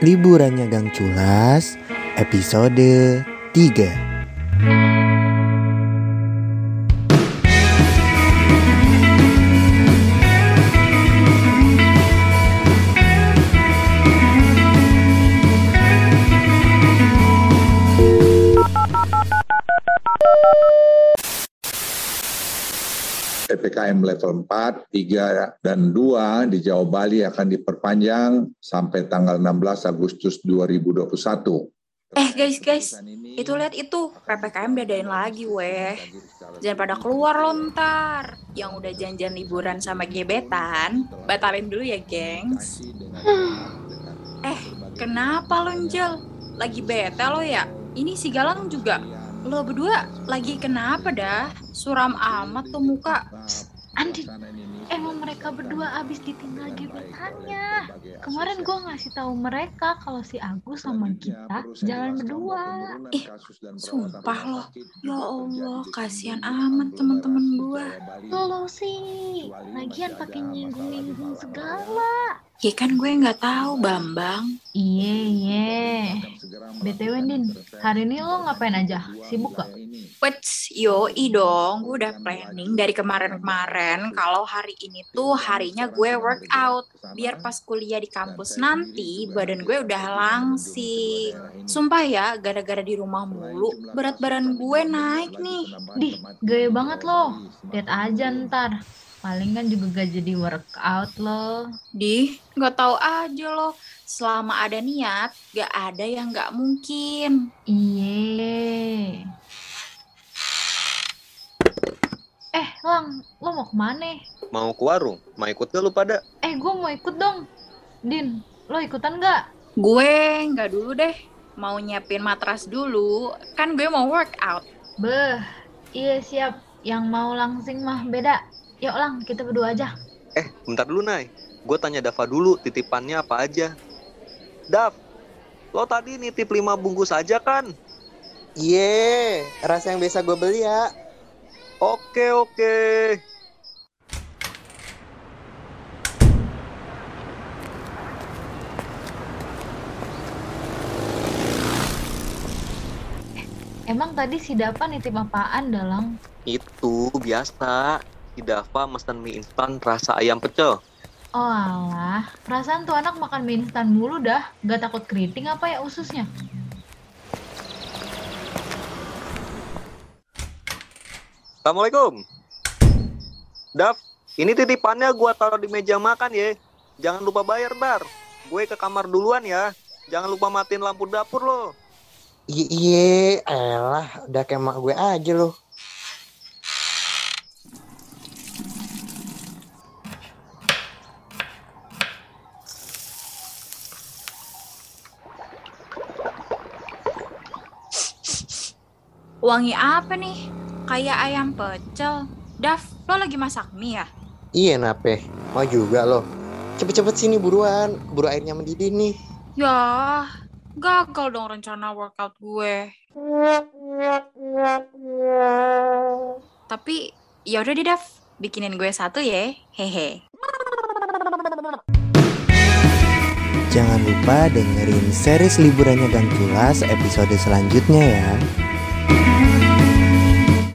Liburannya Gang Culas, episode 3. PPKM level 4, 3, dan 2 di Jawa Bali akan diperpanjang sampai tanggal 16 Agustus 2021. Guys, itu lihat itu, PPKM diadain lagi weh. Jangan pada keluar lo ntar. Yang udah janjian liburan sama gebetan, batalin dulu ya gengs. Kenapa lo Njel? Lagi bete lo ya? Ini si Galang juga. Lo berdua lagi kenapa dah? Suram amat tuh muka. Andin, emang mereka berdua abis ditinggal gebetannya. Kemarin gue ngasih tahu mereka kalau si Agus sama kita jalan berdua. Sumpah loh. Ya Allah, kasihan amat teman-teman gue. Lo sih, lagian pakai nyinggung-nyinggung segala. Ya kan gue nggak tahu Bambang. Iya. BTW Din, hari ini lo ngapain aja? Sibuk gak? Yoi dong, gue udah planning dari kemarin-kemarin kalau hari ini tuh harinya gue workout. Biar pas kuliah di kampus nanti, badan gue udah langsing. Sumpah ya, gara-gara di rumah mulu, berat badan gue naik nih. Dih, gaya banget lo. Lihat aja ntar. Palingan juga gak jadi workout lo. Dih, gak tahu aja lo. Selama ada niat, gak ada yang gak mungkin. Iye. Lang, lo mau kemana? Mau ke warung? Mau ikut gak lu pada? Gue mau ikut dong. Din, lo ikutan gak? Gue gak dulu deh. Mau nyiapin matras dulu. Kan gue mau workout. Iya siap. Yang mau langsing mah beda. Yuk Lang, kita berdua aja. Bentar dulu Nay. Gue tanya Dava dulu titipannya apa aja. Dav, lo tadi nitip 5 bungkus aja kan? Iya, rasa yang biasa gue beli ya. Oke. Emang tadi si Dava nitip apaan Dalang? Itu biasa. Si Dava mesen mie instan rasa ayam pecel. Oh alah, perasaan tuh anak makan mie instan mulu dah. Gak takut keriting apa ya ususnya? Assalamualaikum. Dav, ini titipannya gue taruh di meja makan ya. Jangan lupa bayar ntar. Gue ke kamar duluan ya. Jangan lupa matiin lampu dapur lo. Iya, elah, udah kayak mak gue aja loh. Wangi apa nih? Kayak ayam pecel. Dav, lo lagi masak mie ya? Iya, nape? Mau juga loh. Cepet-cepet sini buruan, keburu airnya mendidih nih. Ya, gagal dong rencana workout gue. Tapi, yaudah deh Dav, bikinin gue satu ya. Hehe. Jangan lupa dengerin series Liburannya Gang Culas episode selanjutnya ya.